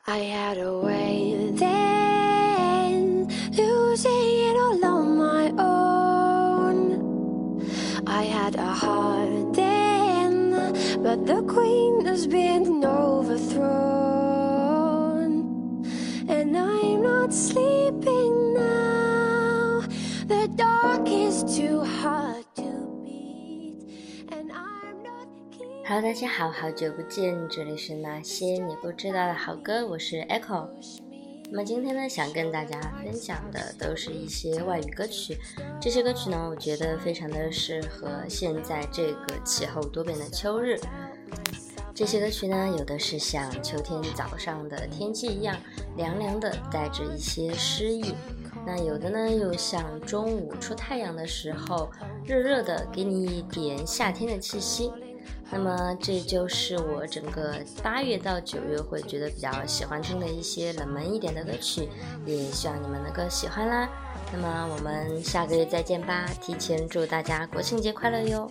I had a way then, losing it all on my own. I had a heart then, but the queen has been overthrown. And I'm not sleeping now, the dark is too hard to beat, and I'm not Hello， 大家好，好久不见，这里是那些你不知道的好歌，我是 Echo。那么今天呢，想跟大家分享的都是一些外语歌曲，这些歌曲呢，我觉得非常的适合现在这个气候多变的秋日。这些歌曲呢，有的是像秋天早上的天气一样凉凉的，带着一些诗意，那有的呢又像中午出太阳的时候热热的，给你一点夏天的气息。那么这就是我整个8月到9月会觉得比较喜欢听的一些冷门一点的歌曲，也希望你们能够喜欢啦。那么我们下个月再见吧，提前祝大家国庆节快乐哟。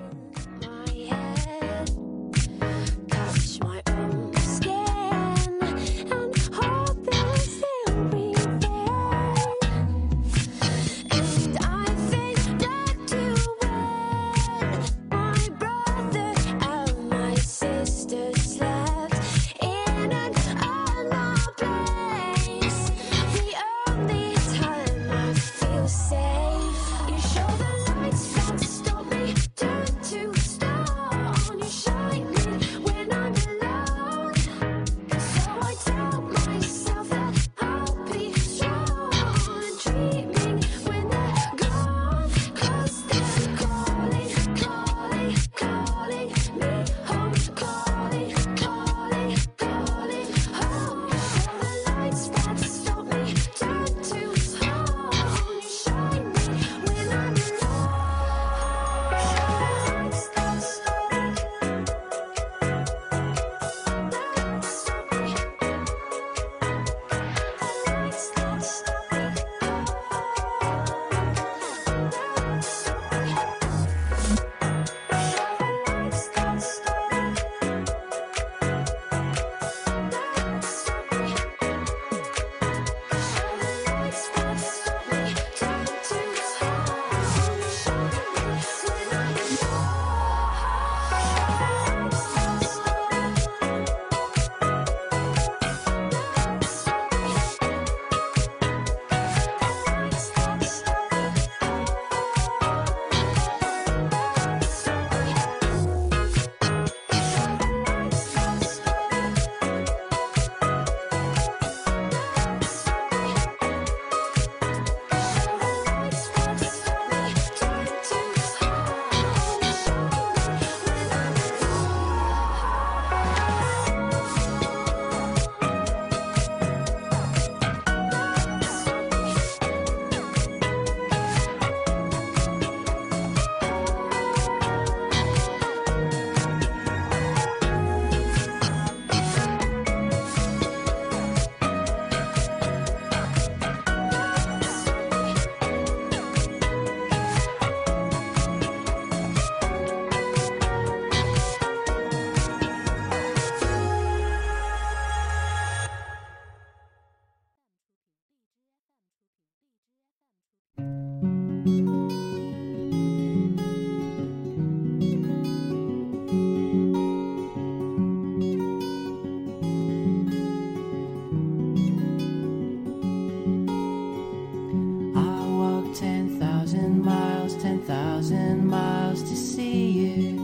10,000 miles to see you,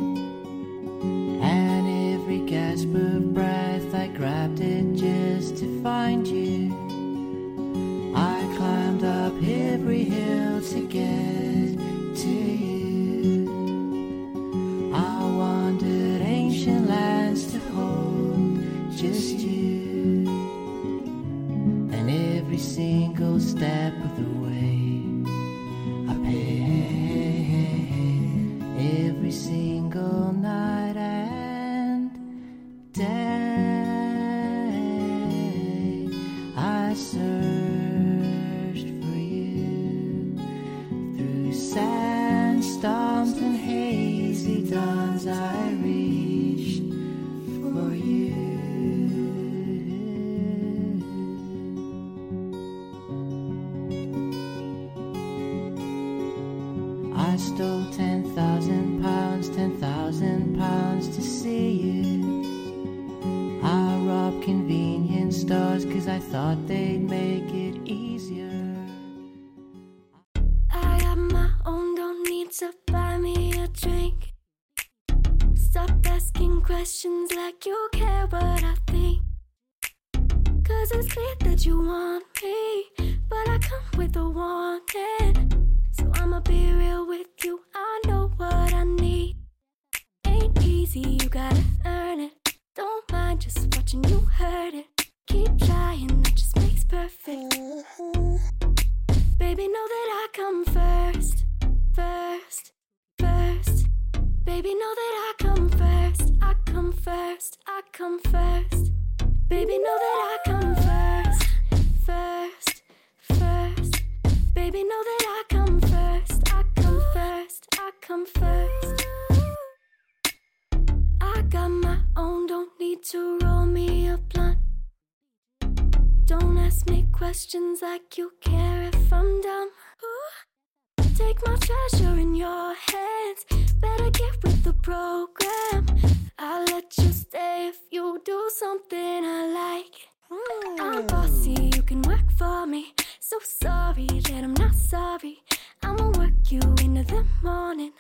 and every gasp of breath I grabbed it just to find you. I climbed up every hill to get to you. I wandered ancient lands to hold just you, and every single step of the way I paid every single night and day. I searched for you through sandstorms and hazy dawns. I reached for you. I stole 10,000 pounds, 10,000 pounds to see you. I robbed convenience stores 'cause I thought they'd make it easier. I got my own, don't need to buy me a drink. Stop asking questions like you care what I think. 'Cause it's clear that you want me, but I come with a warning. So I'ma be real with you, I know what I need. Ain't easy, you gotta earn it. Don't mind just watching you hurt it. Keep trying, that just makes perfect. Baby, know that I come first, first, first. Baby, know that I come first, I come first, I come first. Baby, know that I come first, first, first. Baby, know that I come first, I come first, I come first. I got my own, don't need to roll me a blunt. Don't ask me questions like you care if I'm dumb. Take my treasure in your hands, better get with the program. I'll let you stay if you do something I like. I'm bossy, you can work for me. So sorry that I'm not sorry. I'ma work you into the morning.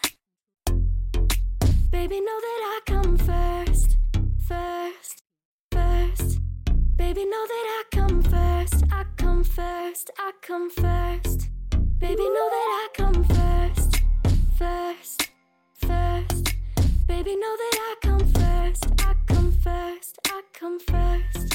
Baby, know that I come first, first, first. Baby, know that I come first, I come first, I come first. Baby, know that I come first, first, first. Baby, know that I come first, I come first, I come first.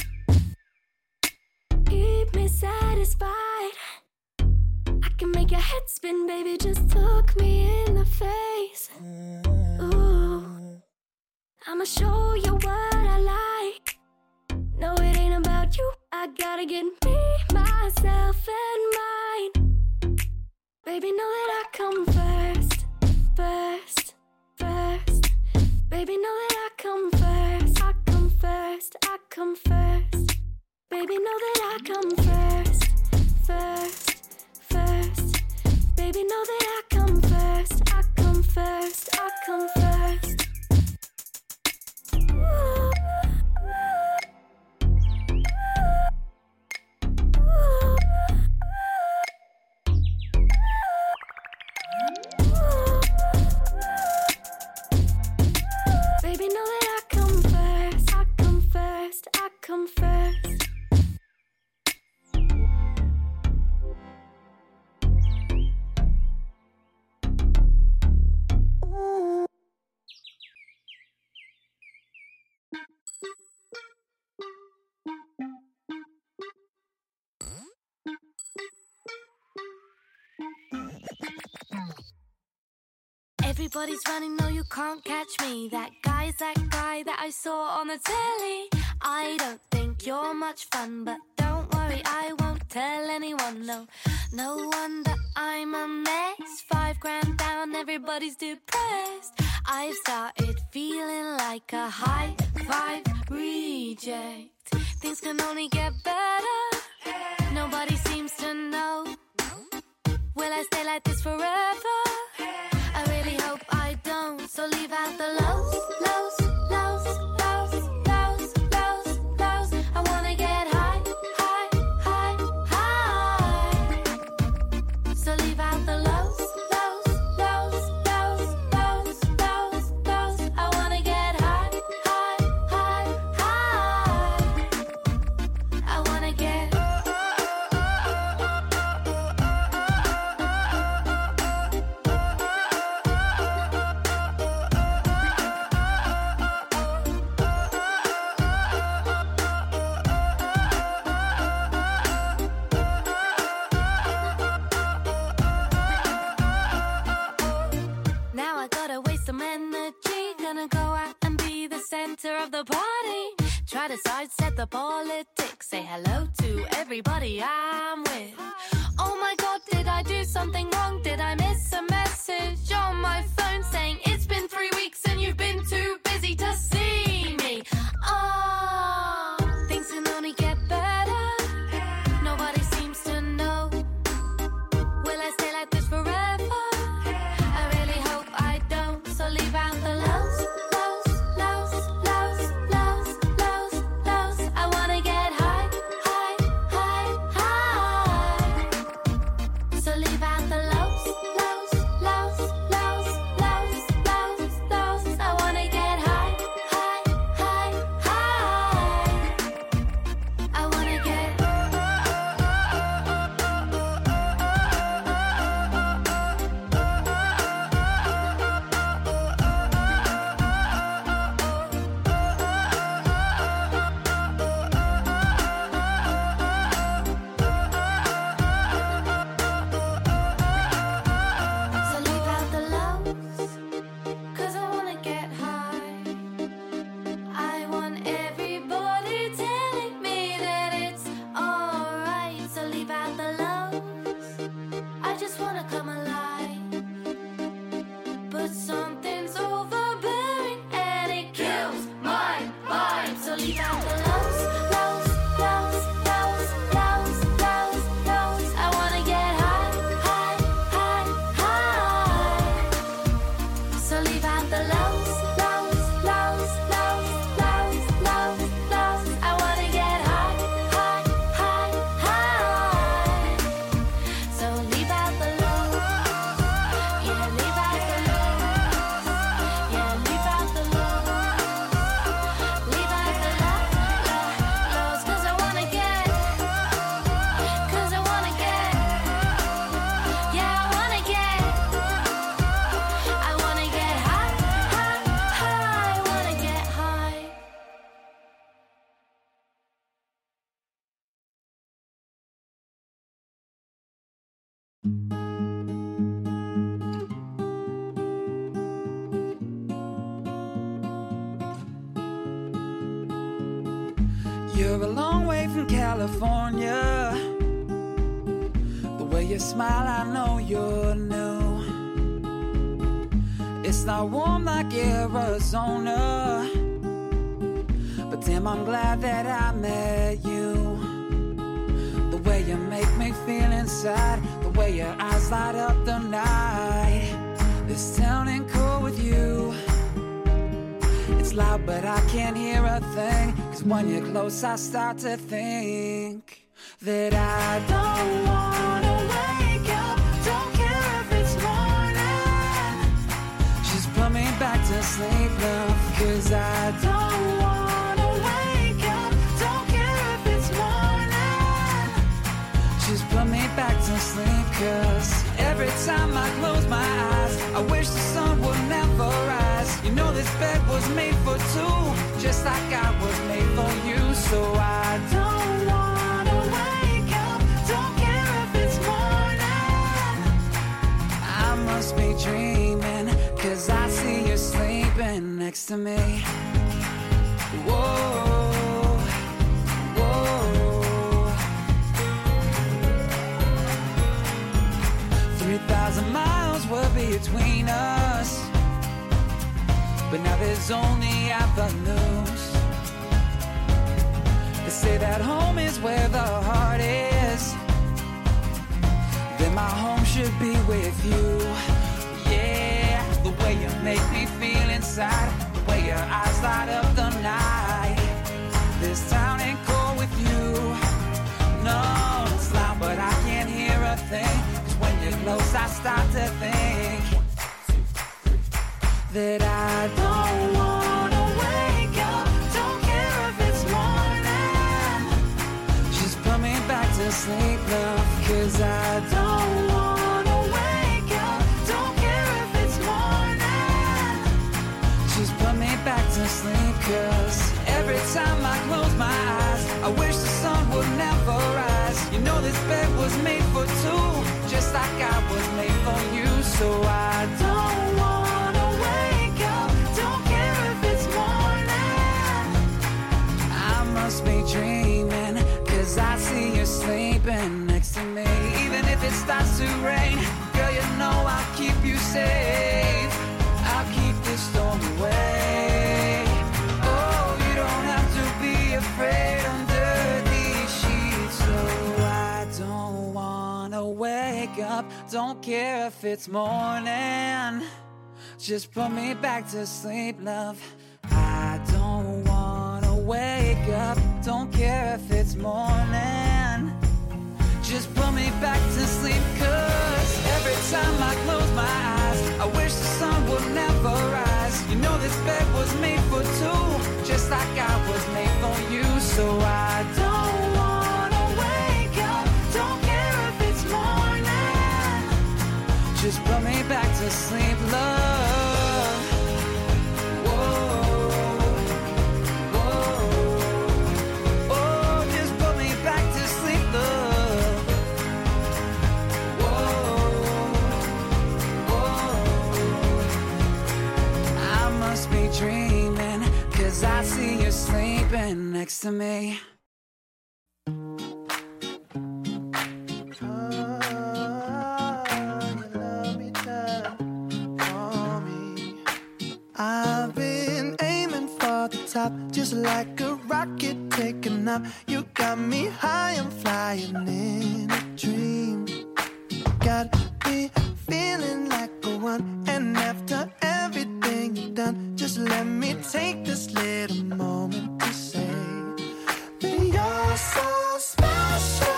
Keep me satisfied. I can make your head spin, baby, just look me in the face. Ooh, I'ma show you what I like. No, it ain't about you, I gotta get me, myself, and mine. Baby, know that I come first, first, first. Baby, know that I come first, I come first, I come first. Baby, know that I come first, first, first. Baby, know that I come first, I come first, I come first. Ooh. Baby, know that I come first, I come first, I come first. Everybody's running, no you can't catch me. That guy's that guy that I saw on the telly. I don't think you're much fun, but don't worry, I won't tell anyone, no. No wonder I'm a mess. 5 grand down, everybody's depressed. I've started feeling like a high 5 reject. Things can only get better. Nobody seems to know. Will I stay like this forever? I really hope I don't. So leave out the lows, lows, lows, lows, lows, lows, lows. I wanna get high, high, high, high. So leave out the lows, lows, lows, lows, lows, lows, lows. I wanna get high, high, high, high. I wanna get center of the party. Try to sidestep the politics. Say hello to everybody I'm with. Oh my god, did I do something wrong? Did I miss a message on my phone saying it's been 3 weeks and you've been too busy to see me? Oh, things can only get better. Nobody seems to know. Will I stay like this forever? I You're a long way from California. The way you smile, I know you're new. It's not warm like Arizona, but damn, I'm glad that I met you. The way you make me feel inside, the way your eyes light up the night. This town ain't cool with you. It's loud but I can't hear a thing, 'cause when you're close I start to think that I don't wanna wake up. Don't care if it's morning. Just put me back to sleep, love, 'cause I don't wanna wake up. Don't care if it's morning. Just put me back to sleep, 'cause every time I close my eyes, I wish the sun would never rise. You know this bed was made for two, just like I was made for you. So I don't wanna wake up. Don't care if it's morning. I must be dreaming, 'cause I see you sleeping next to me. Whoa, whoa. 3,000 miles were between us, but now there's only avenues. They say that home is where the heart is, then my home should be with you. Yeah, the way you make me feel inside, the way your eyes light up the night. This town ain't cool with you. No, it's loud but I can't hear a thing, 'cause when you're close I start to think that I don't wanna wake up. Don't care if it's morning. Just put me back to sleep, love, 'cause I don't wanna wake up. Don't care if it's morning. Just put me back to sleep, 'cause every time I close my eyes, I wish the sun would never rise. You know this bed was made for two, just like I was made for you. So I don't wanna wake up. Don't care if it's morning. I must be dreaming, 'cause I see you sleeping next to me. Even if it starts to rain, girl, you know I'll keep you safe. I'll keep the storm away. Oh, you don't have to be afraid under these sheets. So I don't wanna wake up. Don't care if it's morning. Just put me back to sleep, love. I don't wanna wake up. Don't care if it's morning. Just put me back to sleep, 'cause every time I close my eyes, I wish the sun would never rise. You know this bed was made for two, just like I was made for you. So I don't wanna wake up. Don't care if it's morning. Just put me back to sleep, love. Whoa, whoa. Oh, just put me back to sleep, love. I must be dreaming, 'cause I see you sleeping next to me. I've been aiming for the top, just like a rocket taking up. You got me high, I'm flying in a dream. Got me feeling like a one, and after everything you've done, just let me take this little moment to say that you're so special.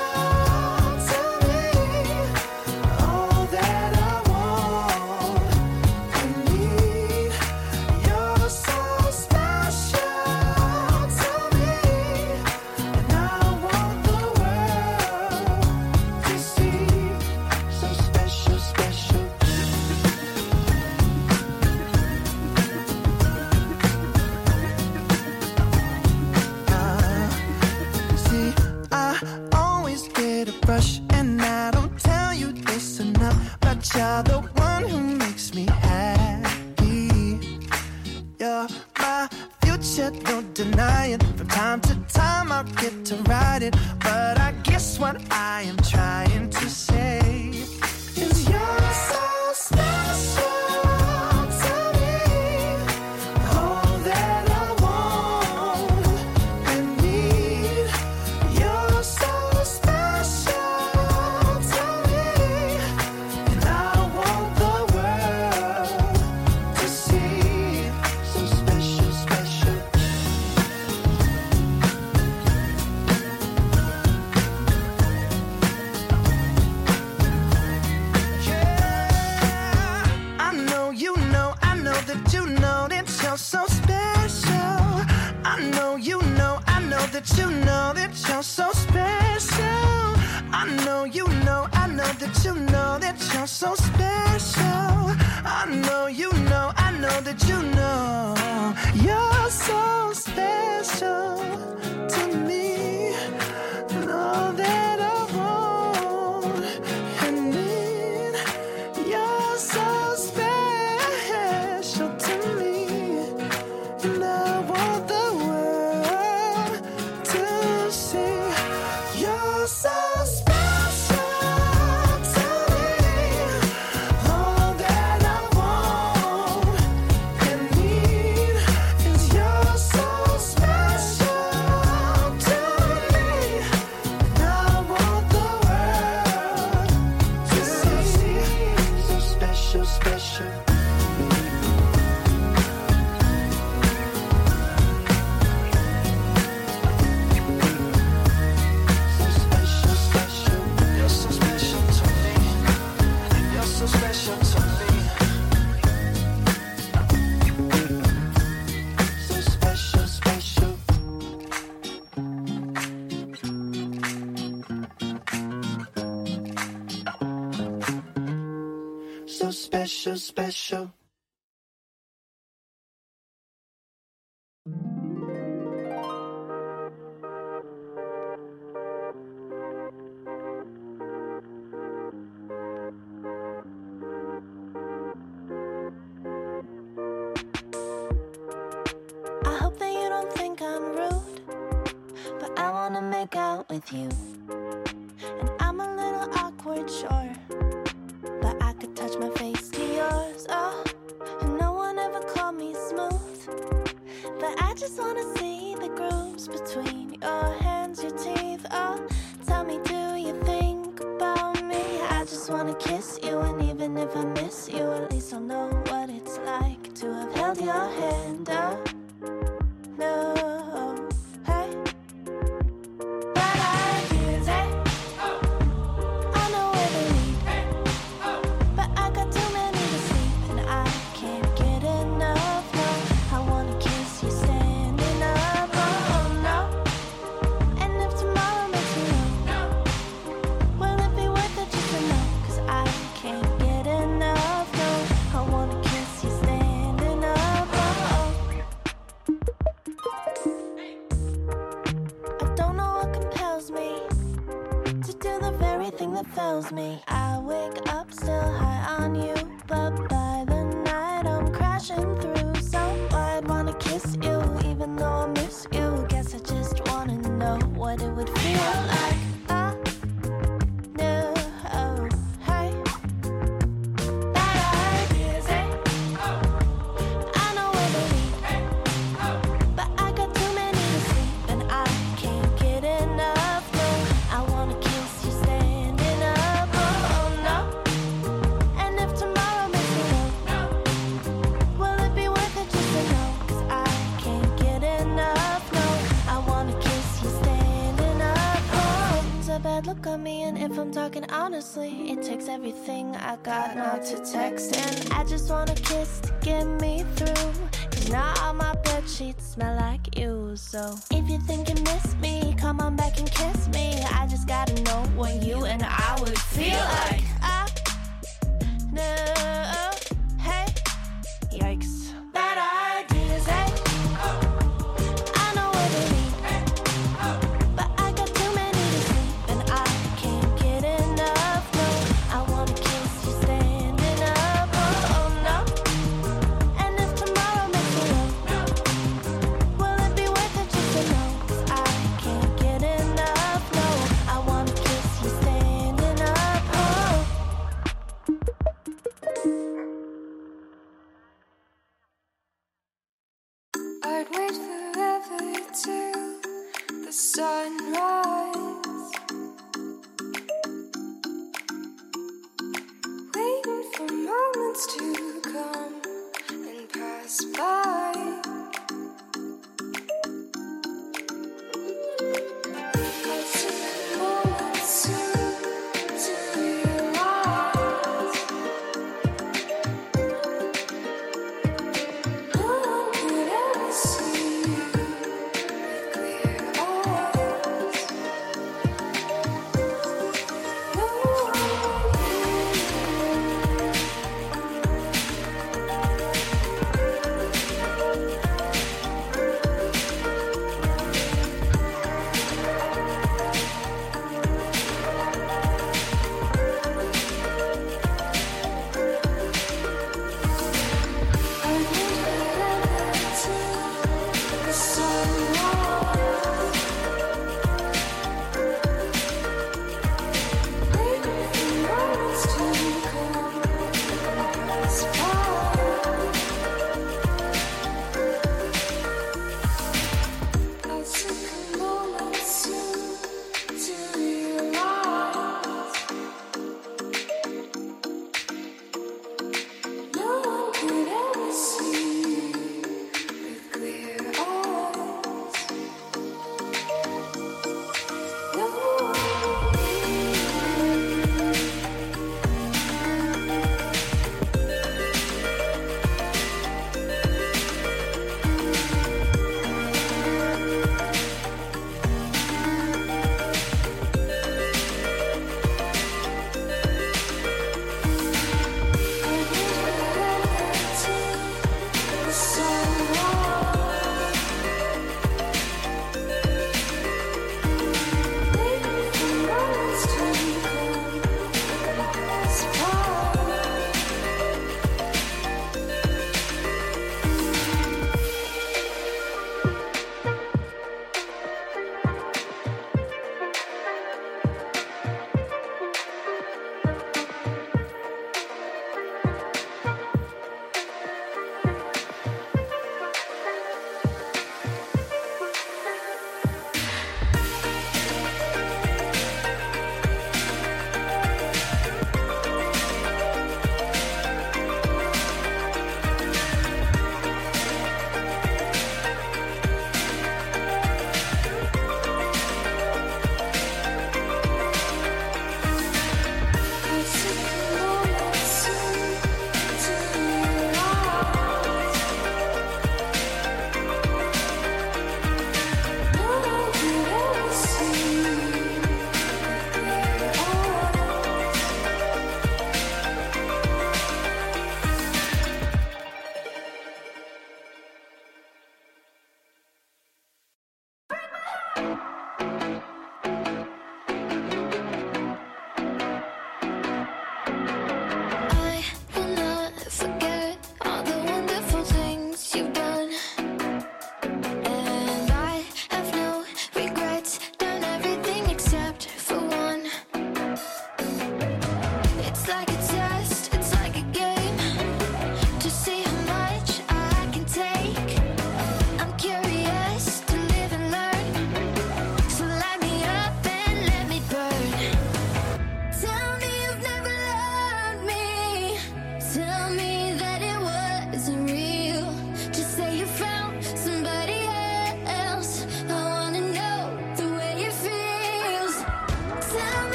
time I'll get to ride it. But I guess what I am trying to say is you're so special to me. All that I want and need. You're so special to me, and I want the world to see. So special, special. I know you know, I know that you know that you're so special. I know you know, I know that you know that you're so special. I know you know, I know that you know that you're so special. I know you know, I know that you know you're so special to me. And all that I want and need. You're so special to me, and I want the world to see. You're so special to me. All that I want and need is you're so special to me, and I want the world to see. So special, special. So special, special. You're so special to me. You're so special to me. So special, special. So special, special. I hope that you don't think I'm rude, but I wanna make out with you. And I'm a little awkward, sure, but I could touch my face to yours. Oh, and no one ever called me smooth, but I just wanna see the grooves between your hands, your teeth. Oh, tell me, do you think about me? I just wanna kiss you, and even if I miss you, at least I'll know what it's like to have held your hand. Oh, no, hey, bad ideas, hey. I know where they lead, but I got too many to sleep, and I can't get enough. No, I wanna kiss you standing up. Oh no, and if tomorrow makes me low, will it be worth it just to know? 'Cause I can't get enough. No, I wanna kiss you standing up. Oh. I don't know what compels me to do the very thing that fails me. I wake up still high on you, but by the night I'm crashing through. So I'd wanna kiss you, even though I miss you. Guess I just wanna know what it would feel like. I know, oh, hey, bad ideas, hey. I know where they lead, but I got too many to sleep, and I can't get enough. No, I wanna kiss you standing up. Oh no, and if tomorrow makes me low, will it be worth it just to know? 'Cause I can't get enough. No, I wanna kiss you standing up. Oh, it's a bad look on me, and if I'm talking honestly, it takes everything I got not to text. And I just want a kiss to get me through, 'cause now all my bed sheets smell like you. So if you think you miss me, come on back and kiss me. I just gotta know what you and I would feel like. I know, hey, yikes, bad ideas, hey. I know where they lead, but I got too many to sleep, and I can't get enough. No, I wanna kiss you standing up. Oh no, and if tomorrow makes me low, will it be worth it just to know? 'Cause I can't sunrise, waiting for moments to come and pass by. I'll take moments soon to realize no one could ever see you with clear eyes.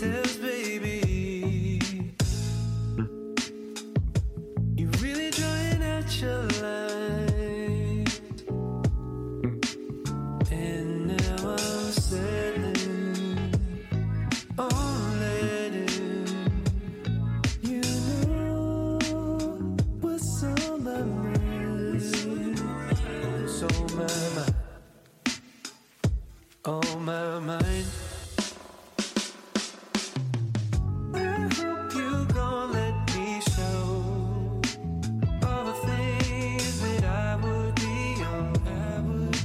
else, baby. You're really drawing out your line, and now I'm settling on letting you know what's on my mind. So my mind, on my mind. I hope you gon' let me show all the things that I would be on. I would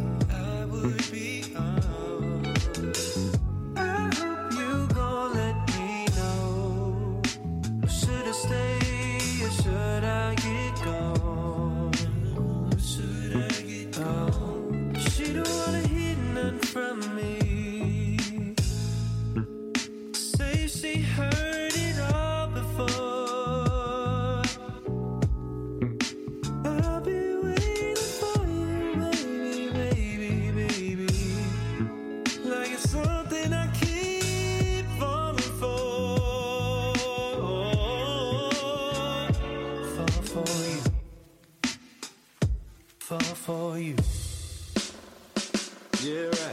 be on. I hope you gon' let me know. Should I stay or should I get gone? Should I get gone? She don't wanna hear nothing from me. Say she heard it all before. I'll be waiting for you, baby, baby, baby. Like it's something I keep falling for. Fall for you. Fall for you. Yeah, right.